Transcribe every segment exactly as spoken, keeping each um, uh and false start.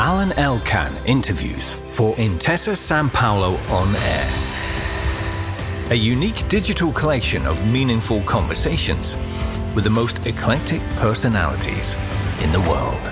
Alan Elkan interviews for Intesa Sanpaolo On Air. A unique digital collection of meaningful conversations with the most eclectic personalities in the world.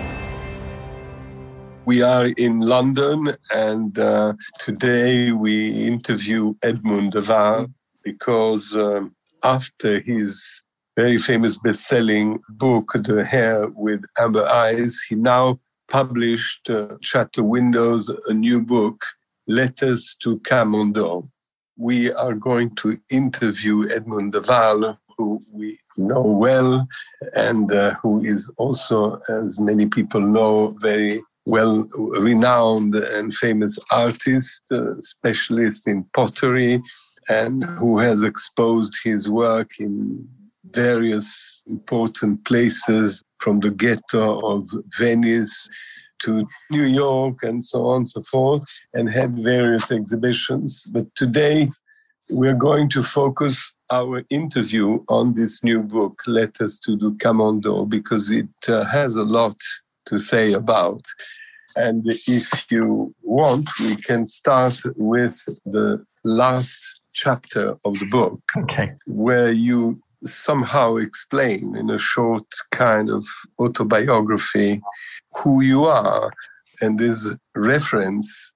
We are in London, and uh, today we interview Edmund de Waal because um, after his very famous best-selling book, The Hare with Amber Eyes, he now published uh, Chateau Windows, a new book, Letters to Camondo. We are going to interview Edmund de Waal, who we know well, and uh, who is also, as many people know, very well-renowned and famous artist, uh, specialist in pottery, and who has exposed his work in various important places, from the ghetto of Venice to New York and so on and so forth, and had various exhibitions. But today we're going to focus our interview on this new book, Letters to the Camondo, because it uh, has a lot to say about. And if you want, we can start with the last chapter of the book, okay, where you somehow explain in a short kind of autobiography who you are. And there's a reference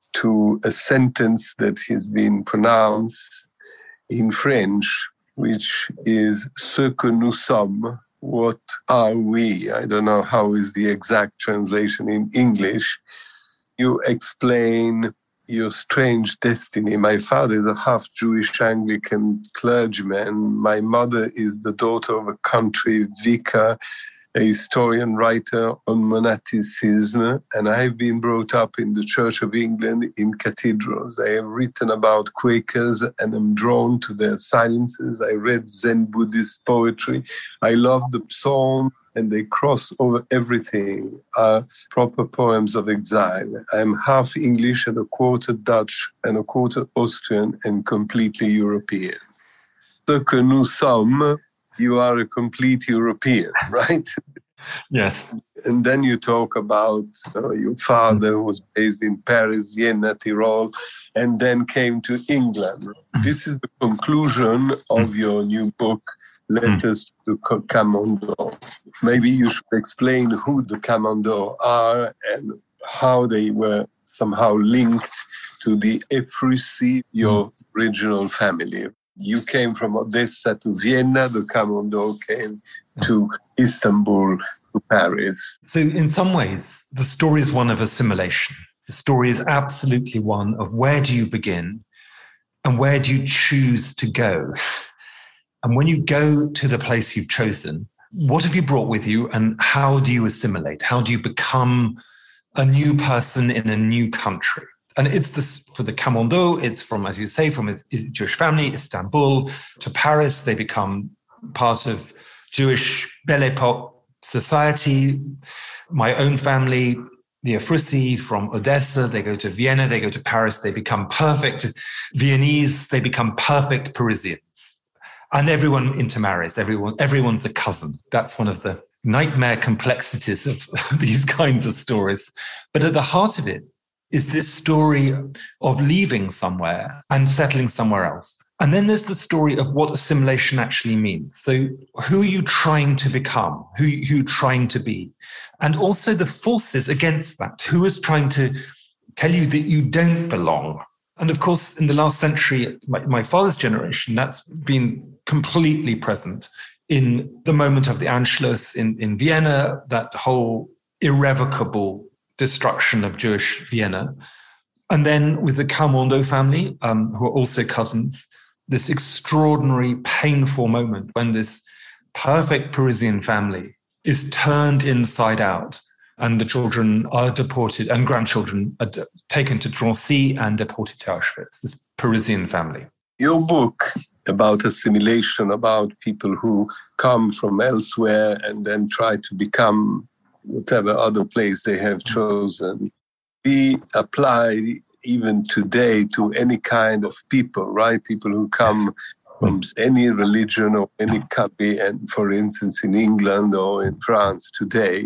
to a sentence that has been pronounced in French, which is "Ce que nous sommes." What are we? I don't know how is the exact translation in English. You explain your strange destiny. My father is a half-Jewish Anglican clergyman. My mother is the daughter of a country vicar, a historian, writer on monasticism, and I have been brought up in the Church of England in cathedrals. I have written about Quakers and am drawn to their silences. I read Zen Buddhist poetry. I love the psalm, and they cross over everything, are proper poems of exile. I am half English and a quarter Dutch and a quarter Austrian and completely European. Ce que nous sommes, you are a complete European, right? Yes. And then you talk about uh, your father who was based in Paris, Vienna, Tyrol, and then came to England. This is the conclusion of your new book, Letters to Camondo. Maybe you should explain who the Camondo are and how they were somehow linked to the Ephrussi, your original family. You came from Odessa to Vienna, the Camondo came to Istanbul, to Paris. So in some ways, the story is one of assimilation. The story is absolutely one of where do you begin and where do you choose to go? And when you go to the place you've chosen, what have you brought with you and how do you assimilate? How do you become a new person in a new country? And it's this for the Camondo, it's from, as you say, from a Jewish family, Istanbul to Paris. They become part of Jewish Belle Epoque society. My own family, the Ephrussi from Odessa, they go to Vienna, they go to Paris, they become perfect Viennese, they become perfect Parisians. And everyone intermarries, everyone, everyone's a cousin. That's one of the nightmare complexities of these kinds of stories. But at the heart of it is this story of leaving somewhere and settling somewhere else. And then there's the story of what assimilation actually means. So who are you trying to become? Who, who are you trying to be? And also the forces against that. Who is trying to tell you that you don't belong? And of course, in the last century, my, my father's generation, that's been completely present in the moment of the Anschluss in, in Vienna, that whole irrevocable destruction of Jewish Vienna. And then with the Camondo family, um, who are also cousins, this extraordinary, painful moment when this perfect Parisian family is turned inside out and the children are deported and grandchildren are de- taken to Drancy and deported to Auschwitz, this Parisian family. Your book about assimilation, about people who come from elsewhere and then try to become whatever other place they have chosen, be applied even today to any kind of people, right? People who come from any religion or any country, and for instance, in England or in France today,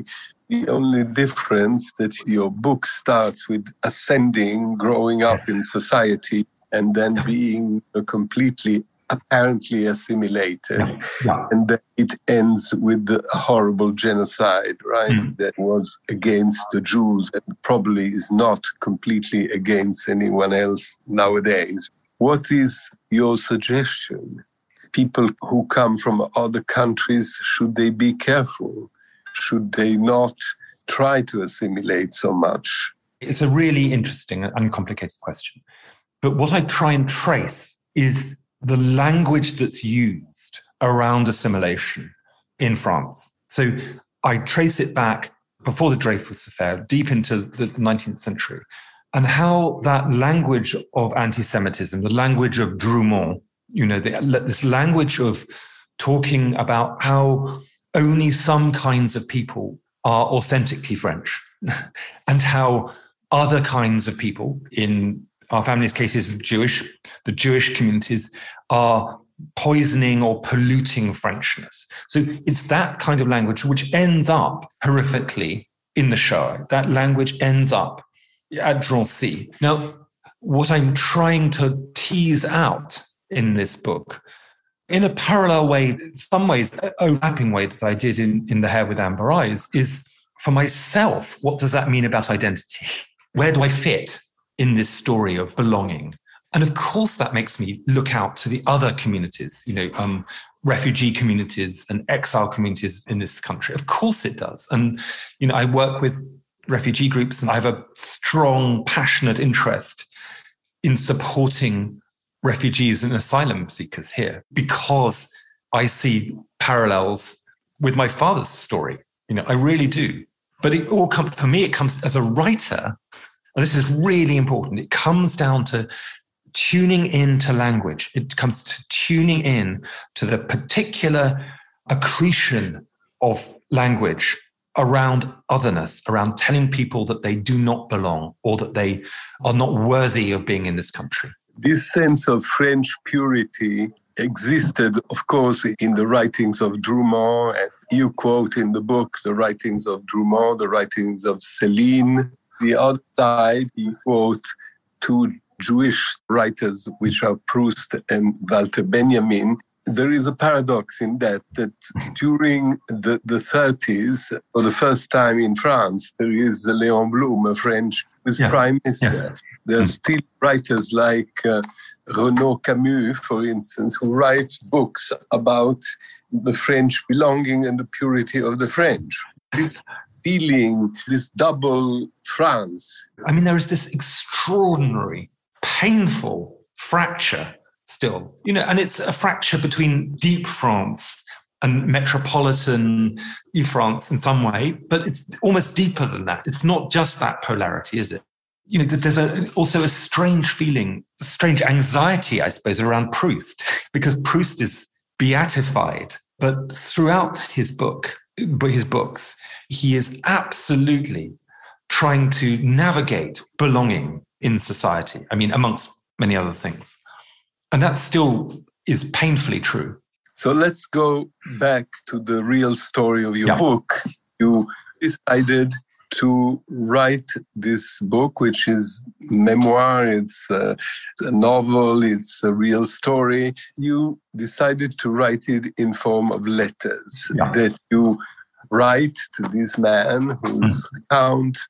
The only difference that your book starts with ascending, growing up yes. in society, and then being completely, apparently assimilated. Yeah. Yeah. And then it ends with the horrible genocide, right? Mm. That was against the Jews and probably is not completely against anyone else nowadays. What is your suggestion? People who come from other countries, should they be careful? Should they not try to assimilate so much? It's a really interesting and complicated question. But what I try and trace is the language that's used around assimilation in France. So I trace it back before the Dreyfus Affair, deep into the nineteenth century, and how that language of anti-Semitism, the language of Drumont, you know, the, this language of talking about how only some kinds of people are authentically French and how other kinds of people, in our family's cases Jewish, the Jewish communities, are poisoning or polluting Frenchness. So it's that kind of language which ends up horrifically in the Shoah. That language ends up at Drancy. Now, what I'm trying to tease out in this book, in a parallel way, in some ways, an overlapping way that I did in, in The Hair with Amber Eyes, is for myself, what does that mean about identity? Where do I fit in this story of belonging? And of course, that makes me look out to the other communities, you know, um, refugee communities and exile communities in this country. Of course it does. And, you know, I work with refugee groups and I have a strong, passionate interest in supporting refugees and asylum seekers here because I see parallels with my father's story. You know, I really do. But it all comes, for me, it comes as a writer, and this is really important. It comes down to tuning into language. It comes to tuning in to the particular accretion of language around otherness, around telling people that they do not belong or that they are not worthy of being in this country. This sense of French purity existed, of course, in the writings of Drumont. And you quote in the book the writings of Drumont, the writings of Céline. The other side, you quote two Jewish writers, which are Proust and Walter Benjamin. There is a paradox in that, that during the, the thirties, for the first time in France, there is Léon Blum, a French who's yeah. prime minister. Yeah. There are mm. still writers like uh, Renaud Camus, for instance, who writes books about the French belonging and the purity of the French. This feeling, this double France. I mean, there is this extraordinary, painful fracture still, you know, and it's a fracture between deep France and metropolitan France in some way, but it's almost deeper than that. It's not just that polarity, is it? You know, there's a, also a strange feeling, a strange anxiety, I suppose, around Proust, because Proust is beatified, but throughout his book, his books, he is absolutely trying to navigate belonging in society. I mean, amongst many other things. And that still is painfully true. So let's go back to the real story of your yeah. book. You decided to write this book, which is memoir, it's a, it's a novel, it's a real story. You decided to write it in form of letters yeah. that you write to this man who's mm. Count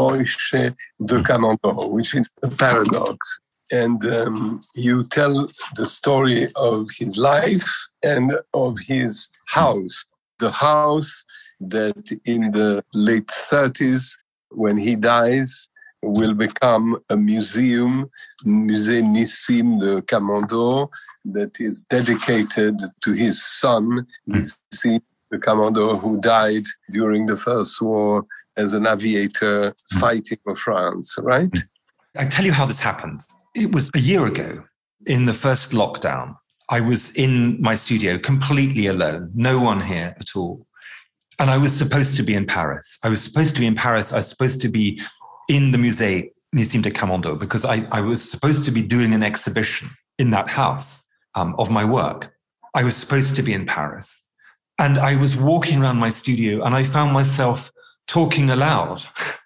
Moïse de Camondo, which is a paradox. And um, you tell the story of his life and of his house. The house that in the late thirties, when he dies, will become a museum, Musée Nissim de Camondo, that is dedicated to his son, Nissim de Camondo, who died during the First War as an aviator fighting for France, right? I tell you how this happened. It was a year ago, in the first lockdown. I was in my studio completely alone, no one here at all. And I was supposed to be in Paris. I was supposed to be in Paris. I was supposed to be in the Musée Nissim de Camondo because I, I was supposed to be doing an exhibition in that house um, of my work. I was supposed to be in Paris. And I was walking around my studio and I found myself talking aloud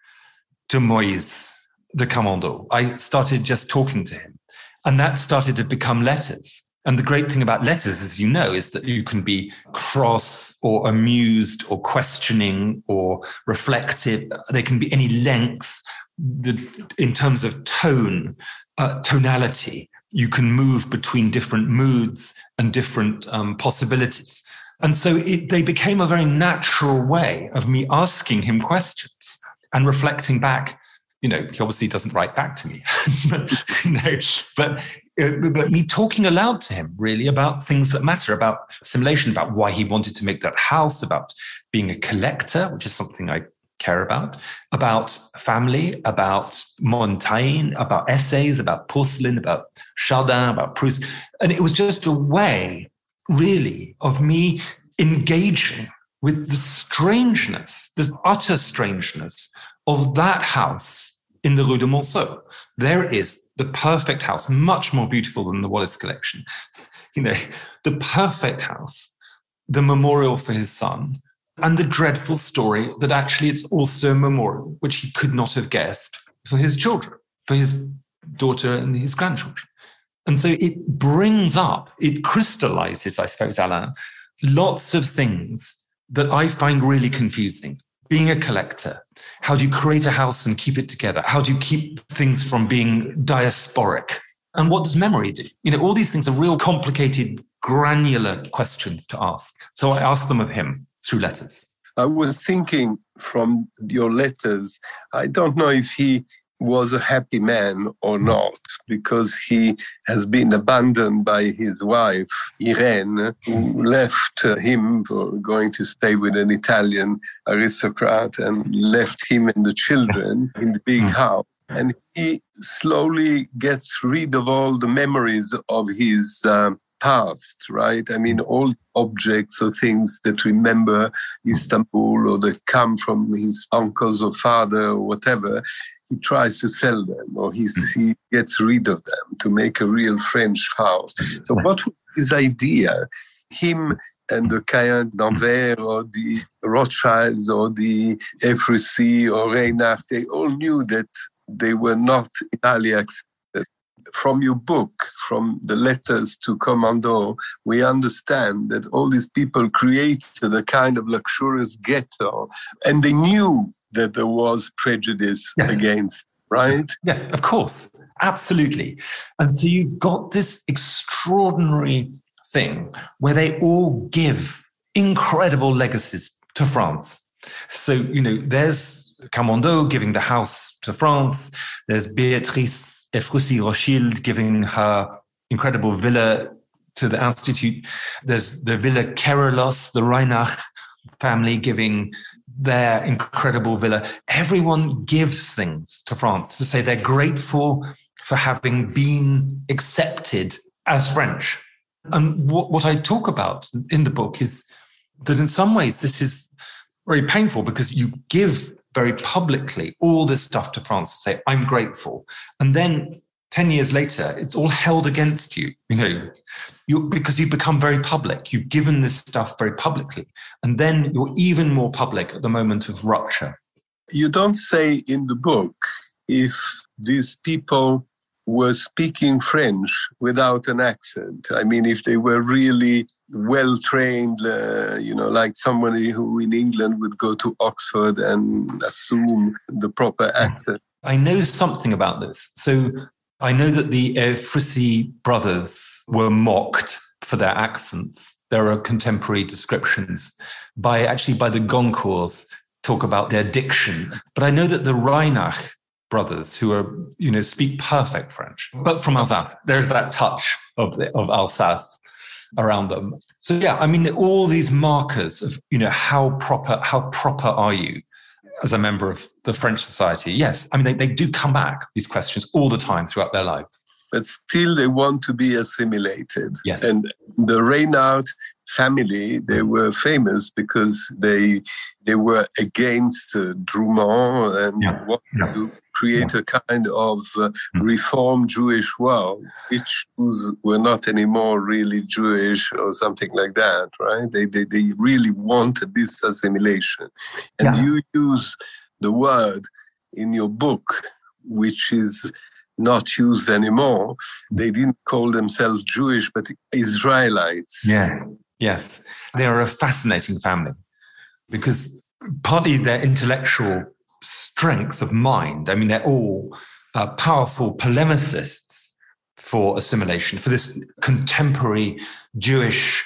to Moïse de Camondo. I started just talking to him. And that started to become letters. And the great thing about letters, as you know, is that you can be cross or amused or questioning or reflective. They can be any length. The, in terms of tone, uh, tonality, you can move between different moods and different um, possibilities. And so it, they became a very natural way of me asking him questions and reflecting back. You know, he obviously doesn't write back to me, but, you know, but, uh, but me talking aloud to him really about things that matter, about assimilation, about why he wanted to make that house, about being a collector, which is something I care about, about family, about Montaigne, about essays, about porcelain, about Chardin, about Proust. And it was just a way, really, of me engaging with the strangeness, this utter strangeness of that house in the Rue de Monceau. There is the perfect house, much more beautiful than the Wallace collection. You know, the perfect house, the memorial for his son, and the dreadful story that actually it's also a memorial, which he could not have guessed, for his children, for his daughter and his grandchildren. And so it brings up, it crystallizes, I suppose, Alain, lots of things that I find really confusing. Being a collector, how do you create a house and keep it together? How do you keep things from being diasporic? And what does memory do? You know, all these things are real complicated, granular questions to ask. So I asked them of him through letters. I was thinking from your letters, I don't know if he was a happy man or not, because he has been abandoned by his wife, Irene, who left him for going to stay with an Italian aristocrat and left him and the children in the big house. And he slowly gets rid of all the memories of his um, past, right? I mean, all objects or things that remember Istanbul or that come from his uncles or father or whatever, he tries to sell them, or he, he gets rid of them to make a real French house. So what was his idea? Him and the Cayen d'Anvers or the Rothschilds or the Ephrussi or Reinach, they all knew that they were not entirely accepted. From your book, from the letters to Camondo, we understand that all these people created a kind of luxurious ghetto, and they knew that there was prejudice yes. against, right? Yes, of course. Absolutely. And so you've got this extraordinary thing where they all give incredible legacies to France. So, you know, there's Camondo giving the house to France. There's Béatrice Ephrussi-Rothschild giving her incredible villa to the Institute. There's the Villa Kerelos, the Reinach family giving their incredible villa. Everyone gives things to France to say they're grateful for having been accepted as French. And what, what I talk about in the book is that in some ways this is very painful, because you give very publicly all this stuff to France to say, I'm grateful. And then ten years later, it's all held against you, you know, you, because you've become very public. You've given this stuff very publicly. And then you're even more public at the moment of rupture. You don't say in the book if these people were speaking French without an accent. I mean, if they were really well-trained, uh, you know, like somebody who in England would go to Oxford and assume the proper accent. I know something about this. So I know that the Ephrussi brothers were mocked for their accents. There are contemporary descriptions by actually by the Goncourts talk about their diction. But I know that the Reinach brothers, who are, you know, speak perfect French, but from Alsace, there's that touch of the, of Alsace around them. So yeah, I mean, all these markers of, you know, how proper, how proper are you as a member of the French society? Yes, I mean, they, they do come back, these questions, all the time throughout their lives. But still they want to be assimilated. Yes. And the Reinhardt, family, they were famous because they they were against uh, Drummond and yeah. wanted yeah. to create yeah. a kind of uh, reformed Jewish world, which Jews were not anymore really Jewish or something like that, right? They they, they really wanted this assimilation. And yeah. you use the word in your book, which is not used anymore. They didn't call themselves Jewish, but Israelites. Yeah, yes. They are a fascinating family because partly their intellectual strength of mind, I mean, they're all uh, powerful polemicists for assimilation, for this contemporary Jewish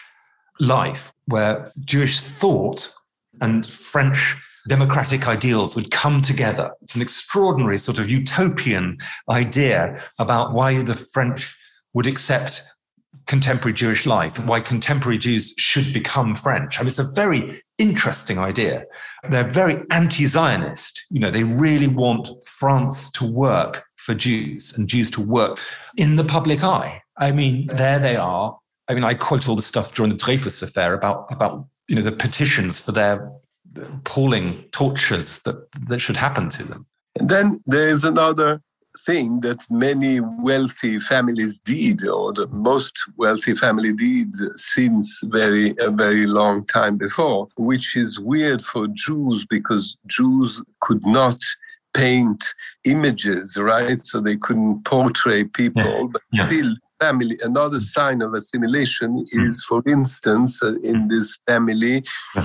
life where Jewish thought and French democratic ideals would come together. It's an extraordinary sort of utopian idea about why the French would accept contemporary Jewish life and why contemporary Jews should become French. I mean, it's a very interesting idea. They're very anti-Zionist. You know, they really want France to work for Jews and Jews to work in the public eye. I mean, there they are. I mean, I quote all the stuff during the Dreyfus affair about, about you know, the petitions for their appalling tortures that, that should happen to them. And then there's another thing that many wealthy families did, or the most wealthy family did since very a very long time before, which is weird for Jews because Jews could not paint images, right? So they couldn't portray people, yeah. but yeah. still family. Another sign of assimilation is, for instance, uh, in this family,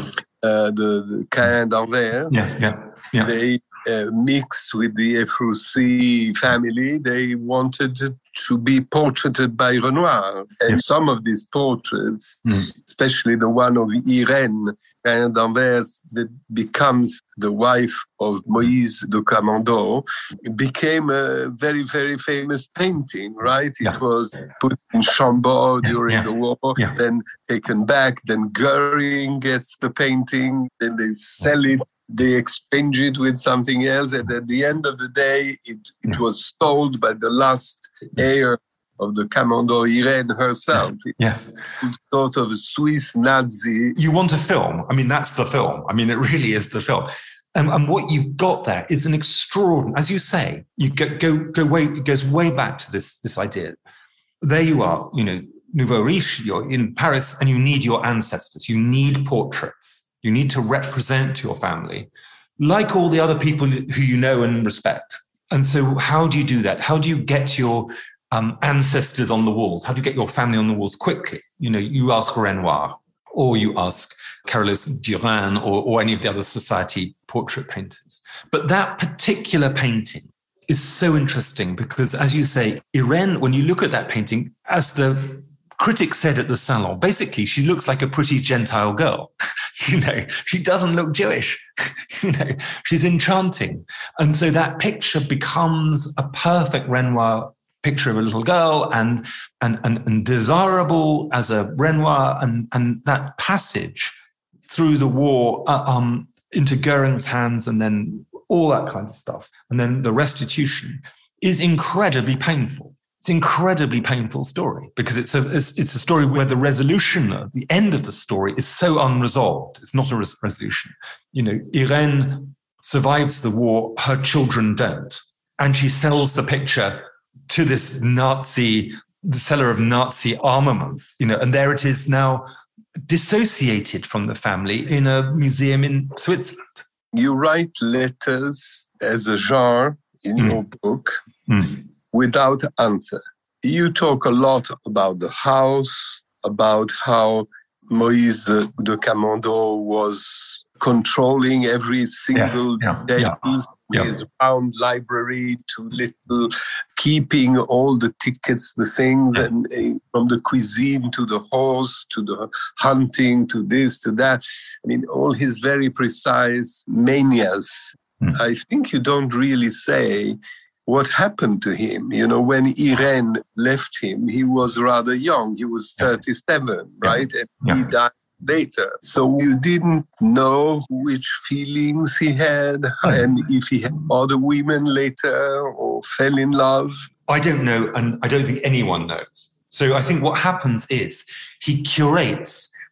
uh, the, the Cain d'Anvers, yeah, yeah, yeah. they uh, mixed with the Ephrussi family. They wanted to be portraited by Renoir. And yeah. some of these portraits, mm. especially the one of Irène Cain d'Anvers, that becomes the wife of Moïse de Camondo, became a very, very famous painting, right? It yeah. was put in Chambord yeah. during yeah. the war, yeah. then taken back, then Goering gets the painting, then they sell it, they exchange it with something else, and at the end of the day, it, it yeah. was sold by the last heir of the Camondo, Irène herself. Yes. It's sort of a Swiss Nazi. You want a film. I mean, that's the film. I mean, it really is the film. And, and what you've got there is an extraordinary, as you say, you go, go, go way, it goes way back to this, this idea. There you are, you know, Nouveau Riche, you're in Paris, and you need your ancestors. You need portraits. You need to represent your family, like all the other people who you know and respect. And so how do you do that? How do you get your um, ancestors on the walls? How do you get your family on the walls quickly? You know, you ask Renoir, or you ask Carolus Duran, or, or any of the other society portrait painters. But that particular painting is so interesting because, as you say, Irène, when you look at that painting, as the critics said at the Salon, basically, she looks like a pretty Gentile girl. You know, she doesn't look Jewish. You know, she's enchanting. And so that picture becomes a perfect Renoir picture of a little girl and and and, and desirable as a Renoir. And, and that passage through the war uh, um, into Goering's hands and then all that kind of stuff. And then the restitution is incredibly painful. It's an incredibly painful story because it's a it's, it's a story where the resolution, the end of the story, is so unresolved. It's not a res- resolution. You know, Irène survives the war; her children don't, and she sells the picture to this Nazi, the seller of Nazi armaments. You know, and there it is now, dissociated from the family in a museum in Switzerland. You write letters as a genre in mm. your book. Mm. Without answer. You talk a lot about the house, about how Moïse de Camondo was controlling every single yes. yeah. day, Yeah. with yeah. his round library to little, keeping all the tickets, the things, yeah. and uh, from the cuisine to the horse, to the hunting, to this, to that. I mean, all his very precise manias. Mm. I think you don't really say what happened to him. You know, when Irène left him, he was rather young. He was thirty-seven, yeah. right? And yeah. he died later. So you didn't know which feelings he had and if he had other women later or fell in love. I don't know, and I don't think anyone knows. So I think what happens is he curates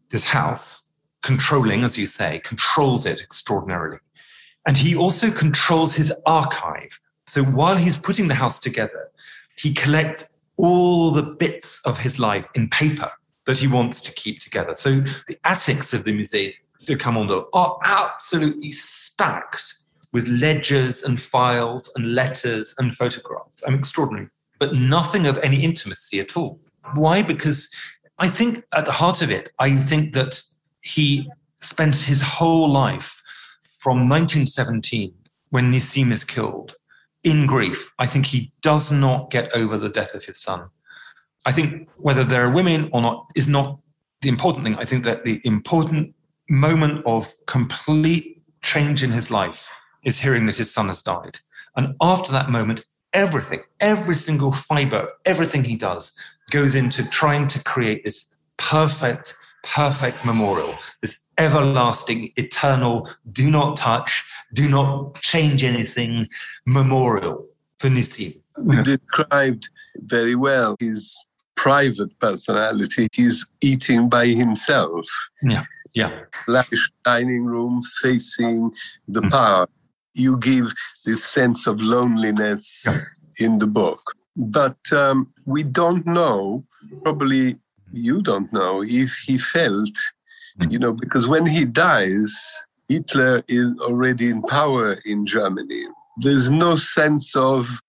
this house, controlling, as you say, controls it extraordinarily. And he also controls his archive. So while he's putting the house together, he collects all the bits of his life in paper that he wants to keep together. So the attics of the Musée de Camondo are absolutely stacked with ledgers and files and letters and photographs. I'm extraordinary, but nothing of any intimacy at all. Why? Because I think at the heart of it, I think that he spent his whole life from nineteen seventeen, when Nissim is killed, in grief. I think he does not get over the death of his son. I think whether there are women or not is not the important thing. I think that the important moment of complete change in his life is hearing that his son has died. And after that moment, everything, every single fiber, everything he does goes into trying to create this perfect, perfect memorial, this everlasting, eternal, do not touch, do not change anything memorial for Nissim. You described very well his private personality. He's eating by himself. Yeah, yeah. Lavish dining room facing the mm. park. You give this sense of loneliness yeah. in the book. But um, we don't know, probably you don't know, if he felt, you know, because when he dies, Hitler is already in power in Germany. There's no sense of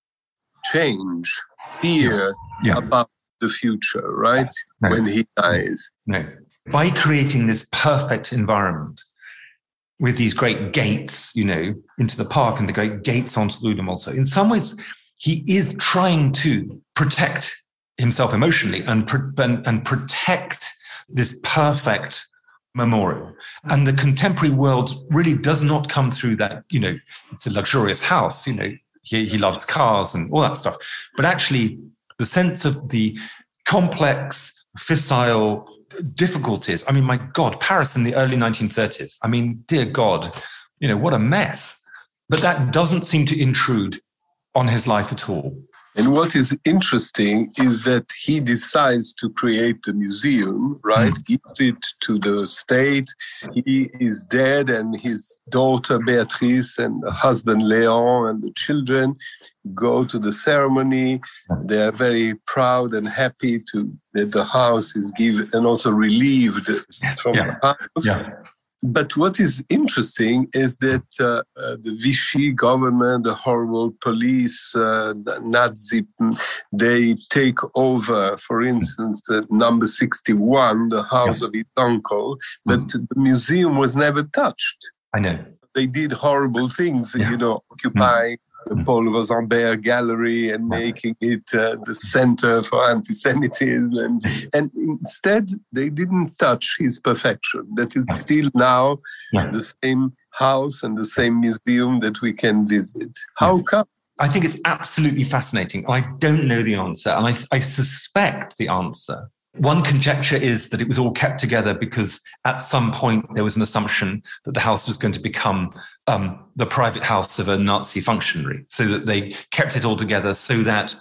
change, fear yeah. Yeah. about the future, right? No. When he dies. No. By creating this perfect environment with these great gates, you know, into the park and the great gates onto the Rue de Monceau, in some ways, he is trying to protect himself emotionally and, and, and protect this perfect memorial. And the contemporary world really does not come through that, you know, it's a luxurious house, you know, he, he loves cars and all that stuff. But actually, the sense of the complex, fissile difficulties. I mean, my God, Paris in the early nineteen thirties. I mean, dear God, you know, what a mess. But that doesn't seem to intrude on his life at all. And what is interesting is that he decides to create the museum, right? Mm. Gives it to the state. He is dead, and his daughter Beatrice and the husband Léon and the children go to the ceremony. They are very proud and happy to that the house is given and also relieved from yeah. the house. Yeah. But what is interesting is that uh, uh, the Vichy government, the horrible police, uh, the Nazi, they take over, for instance, uh, number sixty-one, the house yeah. of his uncle, but mm. the museum was never touched. I know. They did horrible things, yeah. you know, occupying mm. the Paul Rosenberg Gallery and making it uh, the center for anti-Semitism. And, and instead, they didn't touch his perfection. That is still now yeah. the same house and the same museum that we can visit. How yeah. come? I think it's absolutely fascinating. I don't know the answer, and I, I suspect the answer. One conjecture is that it was all kept together because at some point there was an assumption that the house was going to become um, the private house of a Nazi functionary, so that they kept it all together so that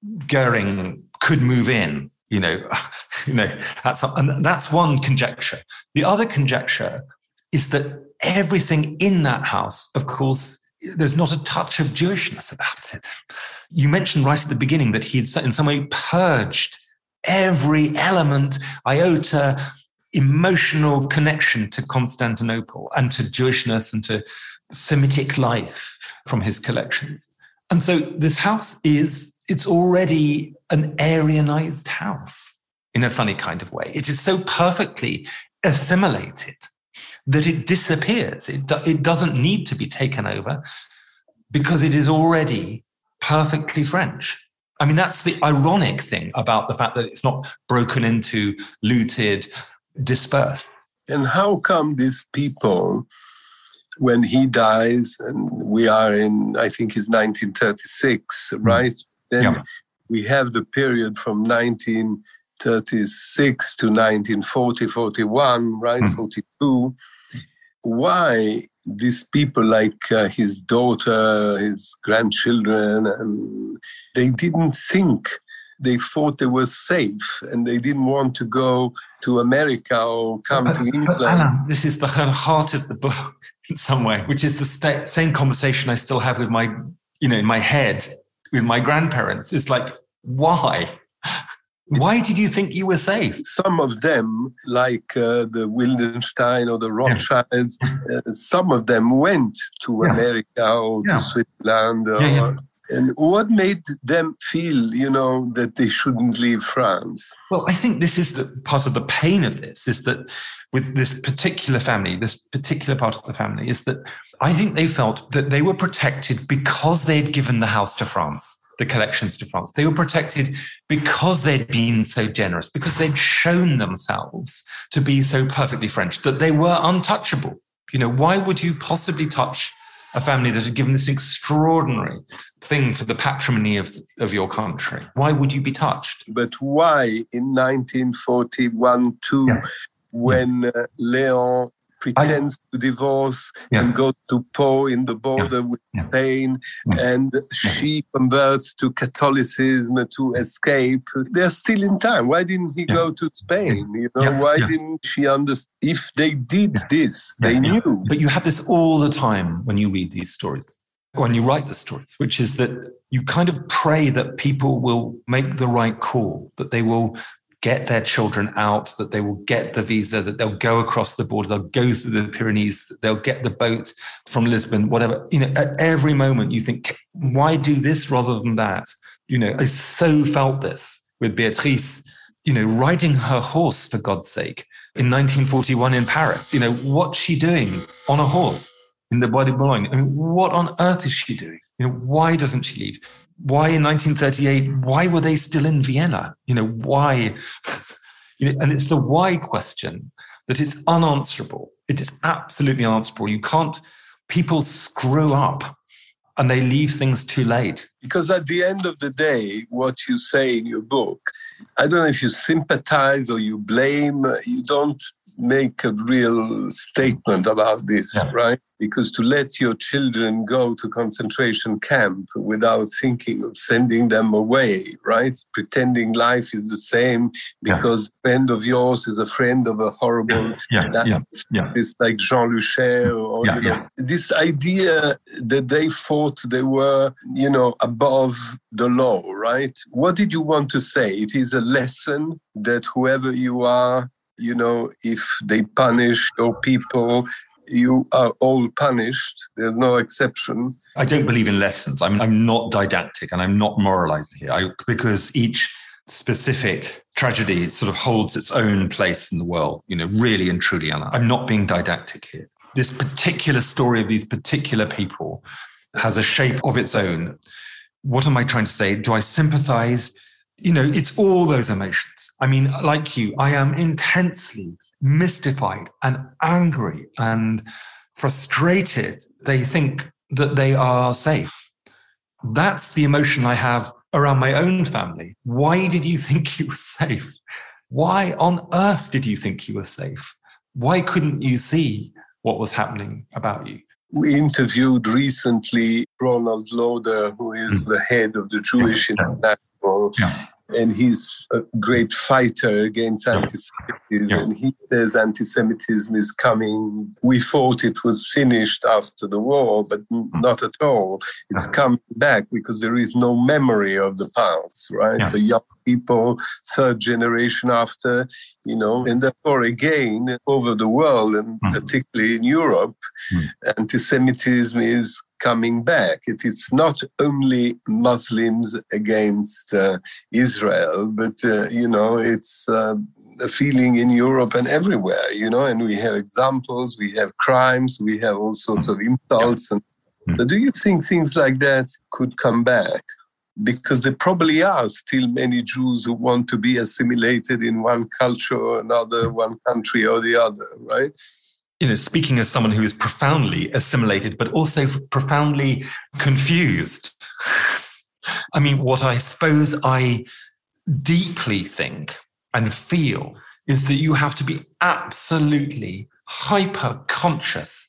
Goering could move in. You know, you know, that's, and that's one conjecture. The other conjecture is that everything in that house, of course, there's not a touch of Jewishness about it. You mentioned right at the beginning that he had in some way purged every element, iota, emotional connection to Constantinople and to Jewishness and to Semitic life from his collections. And so this house is, it's already an Aryanized house in a funny kind of way. It is so perfectly assimilated that it disappears. It, do, it doesn't need to be taken over because it is already perfectly French. I mean, that's the ironic thing about the fact that it's not broken into, looted, dispersed. And how come these people, when he dies, and we are in, I think it's nineteen thirty-six, right? Then yeah. we have the period from nineteen thirty-six to nineteen forty, forty-one, right? Mm. forty-two. Why these people, like uh, his daughter, his grandchildren, and they didn't think they thought they were safe and they didn't want to go to America or come but, to England. But Alain, this is the heart of the book in some way, which is the sta- same conversation I still have with my, you know, in my head with my grandparents. It's like, why? Why did you think you were safe? Some of them, like uh, the Wildenstein or the Rothschilds, yeah. uh, some of them went to yeah. America or yeah. to Switzerland. Or, yeah, yeah. And what made them feel, you know, that they shouldn't leave France? Well, I think this is the part of the pain of this, is that with this particular family, this particular part of the family, is that I think they felt that they were protected because they'd given the house to France. The collections to France. They were protected because they'd been so generous, because they'd shown themselves to be so perfectly French, that they were untouchable. You know, why would you possibly touch a family that had given this extraordinary thing for the patrimony of, of your country? Why would you be touched? But why in nineteen forty-one, too, yeah. when uh, Léon pretends I, to divorce yeah. and go to Pau in the border yeah. with yeah. Spain, yeah. and yeah. she converts to Catholicism to escape. They're still in time. Why didn't he yeah. go to Spain? You know, yeah. why yeah. didn't she understand? If they did yeah. this, yeah. they yeah. knew. But you have this all the time when you read these stories, when you write the stories, which is that you kind of pray that people will make the right call, that they will get their children out, that they will get the visa, that they'll go across the border, they'll go through the Pyrenees, they'll get the boat from Lisbon, whatever. You know, at every moment you think, why do this rather than that? You know, I so felt this with Beatrice, you know, riding her horse, for God's sake, in nineteen forty-one in Paris. You know, what's she doing on a horse in the Bois de Boulogne? I mean, what on earth is she doing? You know, why doesn't she leave? Why in nineteen thirty-eight, why were they still in Vienna? You know, why? You know, and it's the why question that is unanswerable. It is absolutely unanswerable. You can't, people screw up and they leave things too late. Because at the end of the day, what you say in your book, I don't know if you sympathize or you blame, you don't make a real statement about this, yeah. right? Because to let your children go to concentration camp without thinking of sending them away, right? Pretending life is the same because yeah. a friend of yours is a friend of a horrible... Yeah, yeah, yeah, yeah. It's like Jean Lucher or, yeah, you know, yeah. this idea that they thought they were, you know, above the law, right? What did you want to say? It is a lesson that whoever you are, you know, if they punish your people, you are all punished. There's no exception. I don't believe in lessons. I mean, I'm not didactic and I'm not moralizing here I, because each specific tragedy sort of holds its own place in the world, you know, really and truly. And I'm not being didactic here. This particular story of these particular people has a shape of its own. What am I trying to say? Do I sympathize? You know, it's all those emotions. I mean, like you, I am intensely mystified and angry and frustrated. They think that they are safe. That's the emotion I have around my own family. Why did you think you were safe? Why on earth did you think you were safe? Why couldn't you see what was happening about you? We interviewed recently Ronald Lauder, who is mm. the head of the Jewish yeah. International. Yeah. And he's a great fighter against anti-Semitism. Yeah. And he says anti-Semitism is coming. We thought it was finished after the war, but not at all. It's coming back because there is no memory of the past, right? Yeah. So young people, third generation after, you know, and therefore again, over the world, and mm. particularly in Europe, mm. anti-Semitism is coming back. It is not only Muslims against uh, Israel, but, uh, you know, it's uh, a feeling in Europe and everywhere, you know, and we have examples, we have crimes, we have all sorts of insults. And so do you think things like that could come back? Because there probably are still many Jews who want to be assimilated in one culture or another, one country or the other, right? You know, speaking as someone who is profoundly assimilated, but also profoundly confused. I mean, what I suppose I deeply think and feel is that you have to be absolutely hyper conscious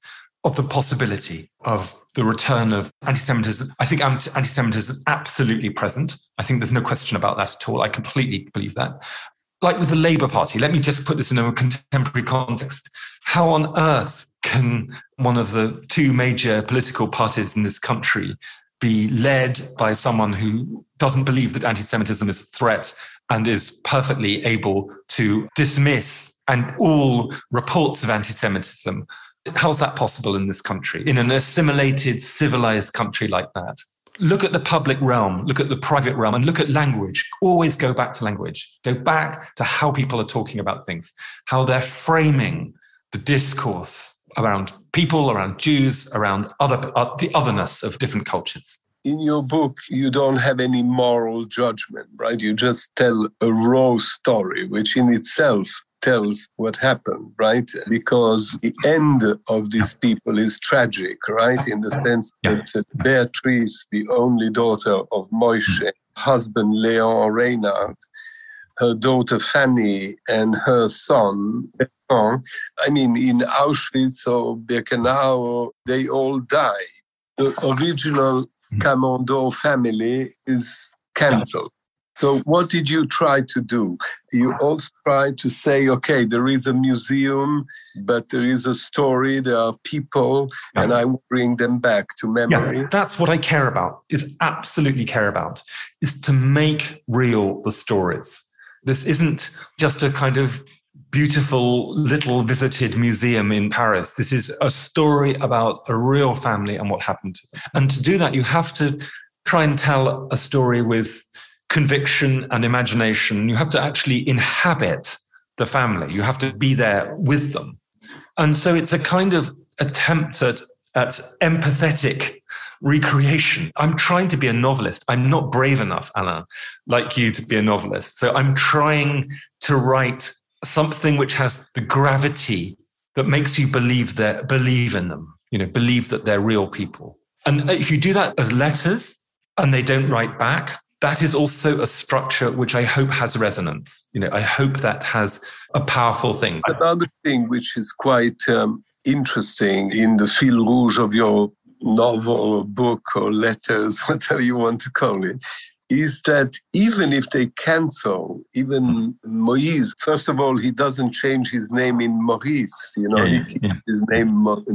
of the possibility of the return of anti-Semitism. I think anti-Semitism is absolutely present. I think there's no question about that at all. I completely believe that. Like with the Labour Party, let me just put this in a contemporary context. How on earth can one of the two major political parties in this country be led by someone who doesn't believe that anti-Semitism is a threat and is perfectly able to dismiss and all reports of anti-Semitism? How's that possible in this country, in an assimilated, civilized country like that? Look at the public realm, look at the private realm, and look at language. Always go back to language. Go back to how people are talking about things, how they're framing the discourse around people, around Jews, around other uh, the otherness of different cultures. In your book, you don't have any moral judgment, right? You just tell a raw story, which in itself tells what happened, right? Because the end of these people is tragic, right? In the sense that Beatrice, the only daughter of Moshe, husband Leon Reinhardt, her daughter Fanny, and her son, Bertrand, I mean, in Auschwitz or Birkenau, they all die. The original Camondor family is cancelled. So what did you try to do? You also tried to say, okay, there is a museum, but there is a story, there are people, yeah. and I will bring them back to memory. Yeah, that's what I care about, is absolutely care about, is to make real the stories. This isn't just a kind of beautiful little visited museum in Paris. This is a story about a real family and what happened to them. And to do that, you have to try and tell a story with conviction and imagination. You have to actually inhabit the family. You have to be there with them. And so it's a kind of attempt at, at empathetic recreation. I'm trying to be a novelist. I'm not brave enough, Alain, like you, to be a novelist. So I'm trying to write something which has the gravity that makes you believe that believe in them, you know, believe that they're real people. And if you do that as letters and they don't write back, that is also a structure which I hope has resonance. You know, I hope that has a powerful thing. Another thing which is quite um, interesting in the fil rouge of your novel or book or letters, whatever you want to call it, is that even if they cancel, even Moïse, first of all, he doesn't change his name in Maurice. You know, yeah, he keeps yeah. his name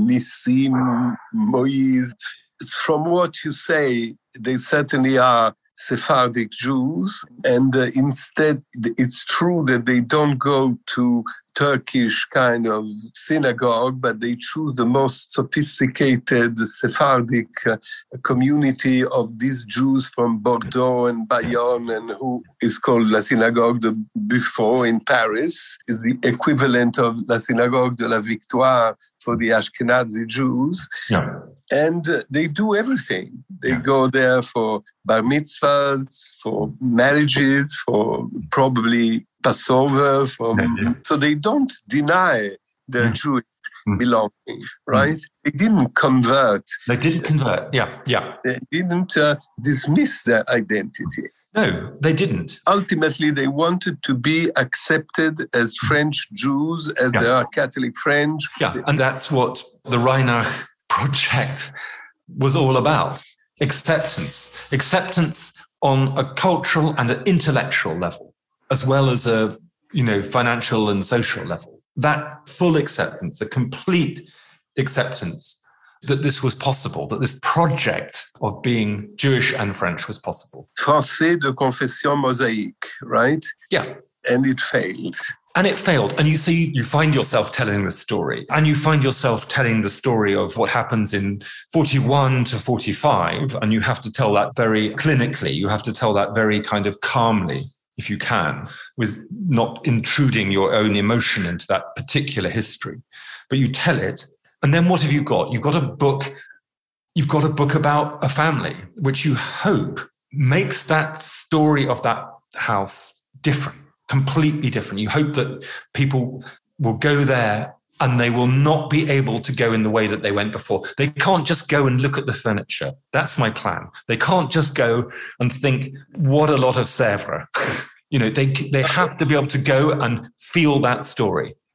Nissim, Moïse. From what you say, they certainly are Sephardic Jews, and uh, instead it's true that they don't go to Turkish kind of synagogue, but they choose the most sophisticated Sephardic uh, community of these Jews from Bordeaux and Bayonne, and who is called La Synagogue de Buffo in Paris, is the equivalent of La Synagogue de la Victoire for the Ashkenazi Jews. Yeah. And uh, they do everything. They yeah. go there for bar mitzvahs, for marriages, for probably Passover. For, yeah. So they don't deny their yeah. Jewish mm. belonging, right? Mm. They didn't convert. They didn't convert, yeah, yeah. They didn't uh, dismiss their identity. No, they didn't. Ultimately, they wanted to be accepted as French Jews, as yeah. they are Catholic French. Yeah, and that's what the Reinach project was all about. Acceptance. Acceptance on a cultural and an intellectual level, as well as a, you know, financial and social level. That full acceptance, a complete acceptance that this was possible, that this project of being Jewish and French was possible. Français de confession mosaïque, right? Yeah. And it failed. And it failed. And you see, you find yourself telling the story. And you find yourself telling the story of what happens in forty-one to forty-five. And you have to tell that very clinically. You have to tell that very kind of calmly, if you can, with not intruding your own emotion into that particular history. But you tell it. And then what have you got? You've got a book. You've got a book about a family, which you hope makes that story of that house different. Completely different. You hope that people will go there and they will not be able to go in the way that they went before. They can't just go and look at the furniture. That's my plan. They can't just go and think, what a lot of Sèvres. You know, they they have to be able to go and feel that story.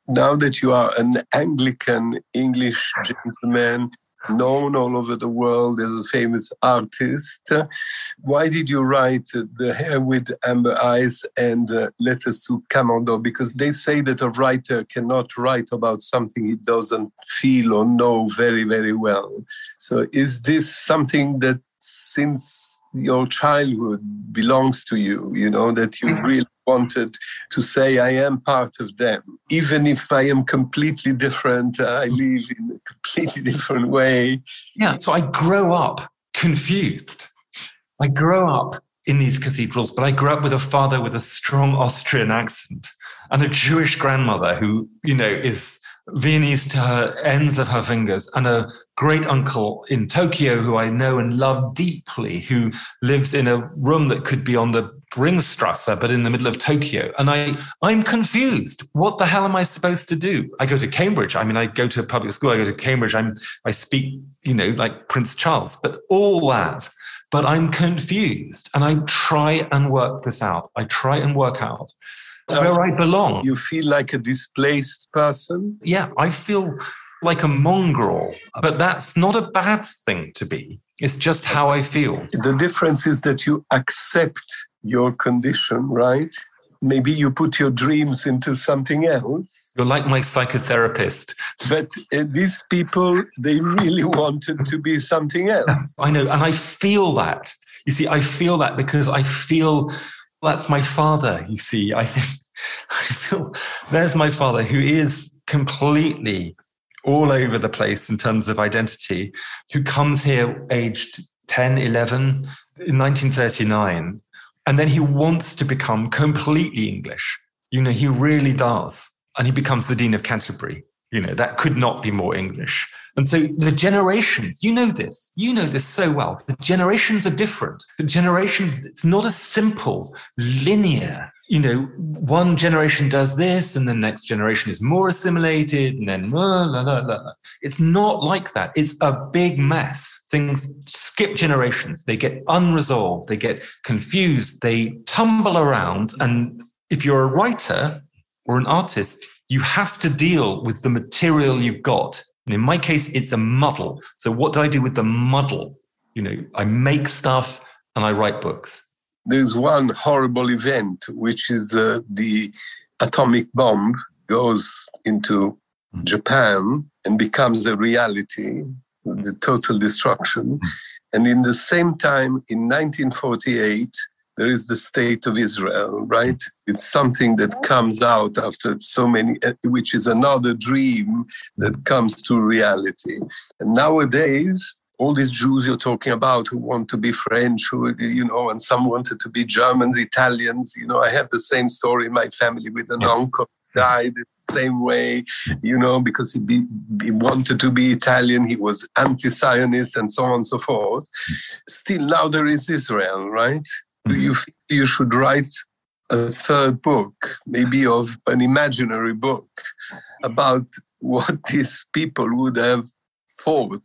Now that you are an Anglican English gentleman, known all over the world as a famous artist, uh, why did you write uh, The Hair with Amber Eyes and uh, Letters to Camando? Because they say that a writer cannot write about something he doesn't feel or know very, very well. So is this something that since your childhood belongs to you, you know, that you really wanted to say, I am part of them, even if I am completely different, I live in a completely different way. Yeah, so I grow up confused. I grow up in these cathedrals, but I grew up with a father with a strong Austrian accent and a Jewish grandmother who, you know, is Viennese to her ends of her fingers, and a great uncle in Tokyo who I know and love deeply, who lives in a room that could be on the Ringstrasse, but in the middle of Tokyo. And I, I'm confused. What the hell am I supposed to do? I go to Cambridge. I mean, I go to a public school. I go to Cambridge. I'm, I speak, you know, like Prince Charles, but all that. But I'm confused, and I try and work this out. I try and work out where I belong. You feel like a displaced person? Yeah, I feel like a mongrel, but that's not a bad thing to be. It's just how I feel. The difference is that you accept your condition, right? Maybe you put your dreams into something else. You're like my psychotherapist. But uh, these people, they really wanted to be something else. I know, and I feel that. You see, I feel that because I feel... That's my father, you see. I think I feel there's my father who is completely all over the place in terms of identity, who comes here aged ten, eleven in nineteen thirty-nine. And then he wants to become completely English. You know, he really does. And he becomes the Dean of Canterbury. You know, that could not be more English. And so the generations, you know this, you know this so well. The generations are different. The generations, it's not a simple, linear, you know, one generation does this and the next generation is more assimilated and then, blah, blah, blah, blah. It's not like that. It's a big mess. Things skip generations. They get unresolved. They get confused. They tumble around. And if you're a writer or an artist, you have to deal with the material you've got. And in my case, it's a muddle. So what do I do with the muddle? You know, I make stuff and I write books. There's one horrible event, which is uh, the atomic bomb goes into mm. Japan and becomes a reality, mm. the total destruction. Mm. And in the same time, in nineteen forty-eight, there is the State of Israel, right? It's something that comes out after so many, which is another dream that comes to reality. And nowadays, all these Jews you're talking about who want to be French, who, you know, and some wanted to be Germans, Italians. You know, I have the same story in my family with an uncle who died the same way, you know, because he, be, he wanted to be Italian. He was anti-Zionist and so on and so forth. Still, now there is Israel, right? Do you feel you should write a third book, maybe of an imaginary book, about what these people would have thought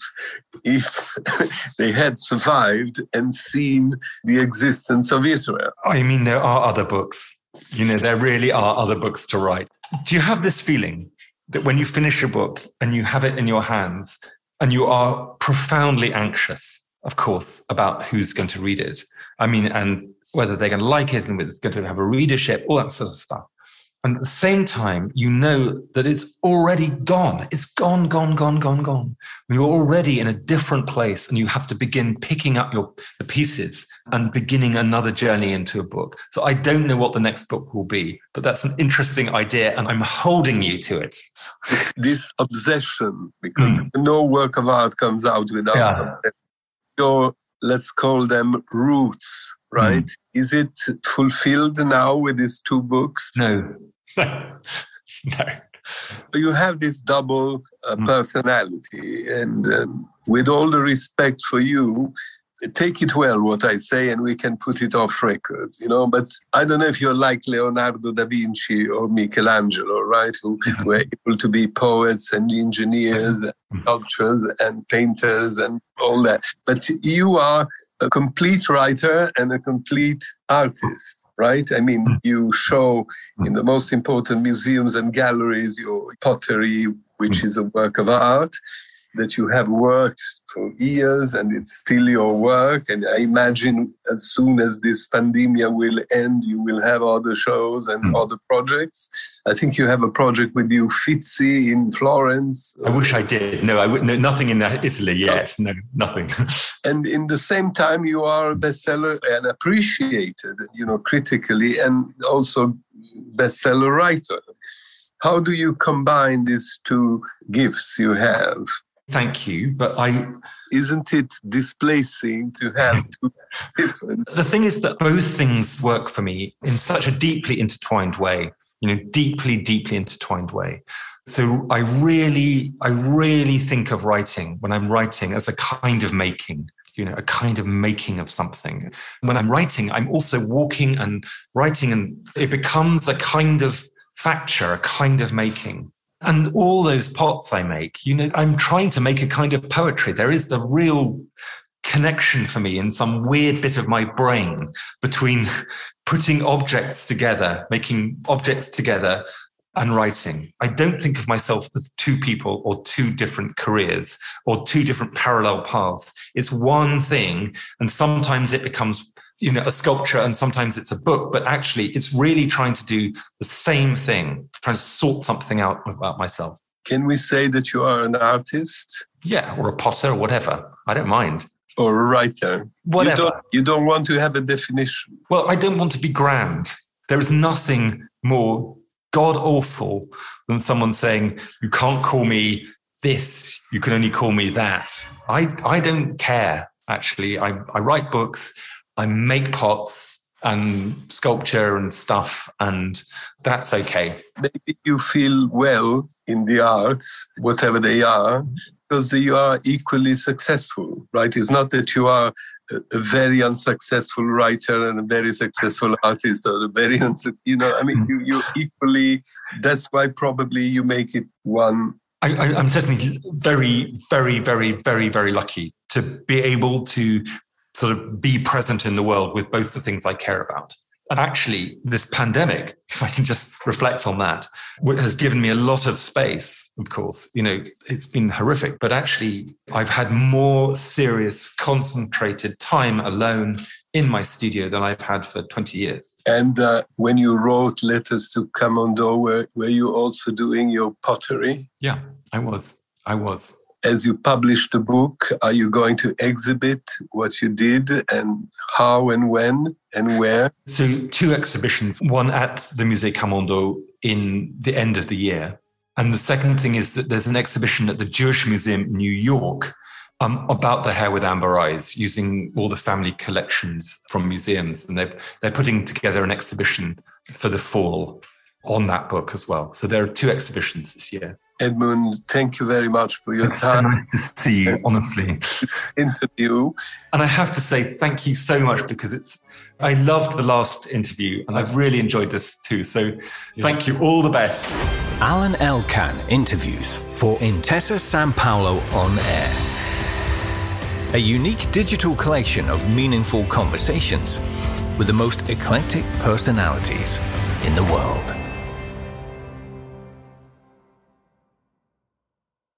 if they had survived and seen the existence of Israel? I mean, there are other books. You know, there really are other books to write. Do you have this feeling that when you finish a book and you have it in your hands and you are profoundly anxious, of course, about who's going to read it? I mean, and whether they're going to like it and whether it's going to have a readership, all that sort of stuff. And at the same time, you know that it's already gone. It's gone, gone, gone, gone, gone. You're already in a different place and you have to begin picking up your the pieces and beginning another journey into a book. So I don't know what the next book will be, but that's an interesting idea and I'm holding you to it. This obsession, because mm. no work of art comes out without yeah. your, let's call them roots, right? Mm. Is it fulfilled now with these two books? No. no. You have this double uh, mm. personality, and um, with all the respect for you, take it well what I say and we can put it off records, you know, but I don't know if you're like Leonardo da Vinci or Michelangelo, right, who mm-hmm. were able to be poets and engineers and sculptors and painters and all that. But you are a complete writer and a complete artist. right? I mean, you show in the most important museums and galleries your pottery, which is a work of art that you have worked for years, and it's still your work. And I imagine as soon as this pandemic will end, you will have other shows and mm. other projects. I think you have a project with the Uffizi in Florence. I wish I did. No, I would. No, nothing in Italy yet. No, nothing. And in the same time, you are a bestseller and appreciated, you know, critically, and also bestseller writer. How do you combine these two gifts you have? Thank you, but I... Isn't it displacing to have two different... The thing is that both things work for me in such a deeply intertwined way, you know, deeply, deeply intertwined way. So I really, I really think of writing, when I'm writing, as a kind of making, you know, a kind of making of something. When I'm writing, I'm also walking and writing, and it becomes a kind of facture, a kind of making. And all those pots I make, you know, I'm trying to make a kind of poetry. There is the real connection for me in some weird bit of my brain between putting objects together, making objects together and writing. I don't think of myself as two people or two different careers or two different parallel paths. It's one thing. And sometimes it becomes, you know, a sculpture, and sometimes it's a book, but actually it's really trying to do the same thing, trying to sort something out about myself. Can we say that you are an artist? Yeah, or a potter or whatever. I don't mind. Or a writer. Whatever. You don't, you don't want to have a definition. Well, I don't want to be grand. There is nothing more god-awful than someone saying, you can't call me this, you can only call me that. I, I don't care, actually. I, I write books, I make pots and sculpture and stuff, and that's okay. Maybe you feel well in the arts, whatever they are, because you are equally successful, right? It's not that you are a very unsuccessful writer and a very successful artist, or a very, uns- you know, I mean, you, you're equally, that's why probably you make it one. I, I, I'm certainly very, very, very, very, very lucky to be able to sort of be present in the world with both the things I care about. And actually, this pandemic, if I can just reflect on that, has given me a lot of space, of course. You know, it's been horrific, but actually, I've had more serious, concentrated time alone in my studio than I've had for twenty years. And uh, when you wrote Letters to Camondo, were, were you also doing your pottery? Yeah, I was. I was. As you published the book, are you going to exhibit what you did, and how and when and where? So two exhibitions, one at the Musée Camondo in the end of the year. And the second thing is that there's an exhibition at the Jewish Museum in New York um, about the hair with amber eyes, using all the family collections from museums. And they're, they're putting together an exhibition for the fall on that book as well. So there are two exhibitions this year. Edmund, thank you very much for your it's time. So nice to see you, honestly. Interview. And I have to say thank you so much, because it's I loved the last interview and I've really enjoyed this too. So thank you. All the best. Alan Elkann interviews for Intesa Sanpaolo On Air. A unique digital collection of meaningful conversations with the most eclectic personalities in the world.